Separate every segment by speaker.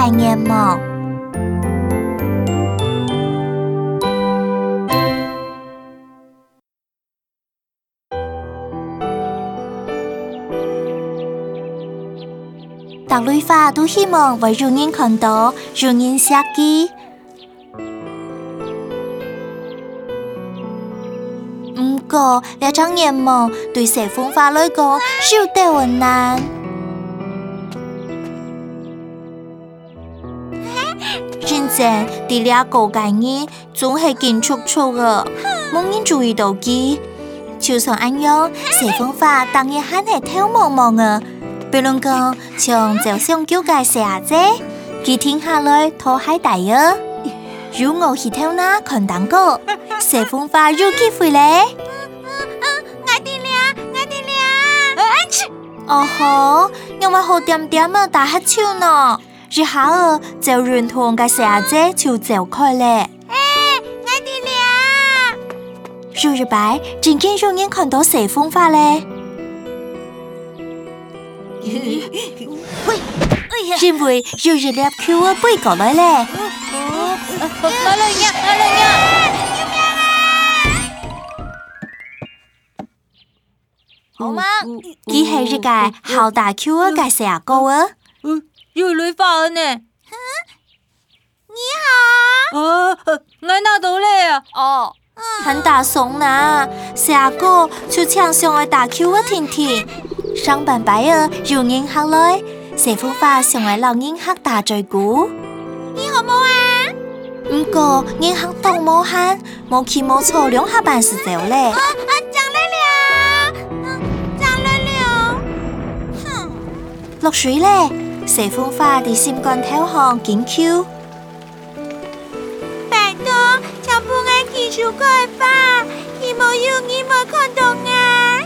Speaker 1: 界眼望。大类花都希望为有人看到，有人写記。不過，呢種願望對社風化來講，少得困難。真正啲呢個概念總係建築錯嘅，冇人注意到佢。就算咁樣，社風化當然還係偷茫茫嘅。比如講，像就想叫個寫者，佢聽下來拖海大啊！如我去偷那看蛋糕，社風化有機會咧。哦吼，因為好點點啊打黑超呢，然後就認同個寫者就走開咧。
Speaker 2: 我哋俩，
Speaker 1: 有一擺真見有人看到社風化咧。因為有一粒球啊飛過來咧。
Speaker 2: 我來呀！好嗎？
Speaker 1: 佢係一個好大球啊個社高啊。
Speaker 2: 有女花呢？你好。我拿到咧啊！哦，
Speaker 1: 很大聲呐，社高就搶上來打球啊甜甜。上班擺啊，有人客來，社風化上來老人客打嘴鼓。
Speaker 2: 你好冇啊？
Speaker 1: 不過人客都冇喊，冇氣冇錯兩下辦事走咧。落水咧，社風化啲心肝頭項緊 Q。
Speaker 2: 拜託，請幫我技術開吧，佢冇要你冇看到啊！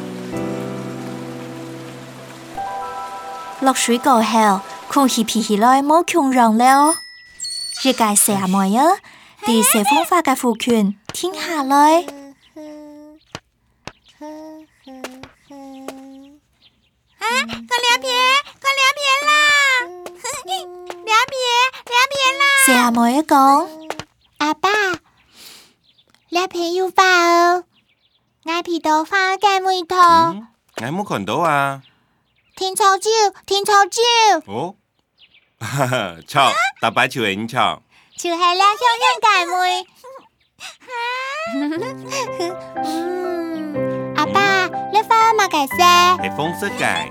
Speaker 1: 落水過後，空氣皮起來冇強讓了。一個社妹啊，啲社風化嘅父權停下來。社妹一講，
Speaker 2: 阿爸，兩片要花哦，我皮到花嘅味道。
Speaker 3: 我冇看到啊。
Speaker 2: 天草椒。
Speaker 3: 哦，哈哈，錯，大擺條影錯。
Speaker 2: 就係兩香嘅妹。阿爸，你花乜嘅色？
Speaker 3: 係紅色嘅。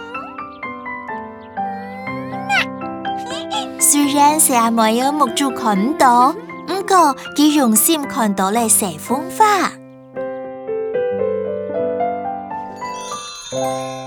Speaker 1: 雖然社妹有目珠看唔到，不過佢用心看到了社風化。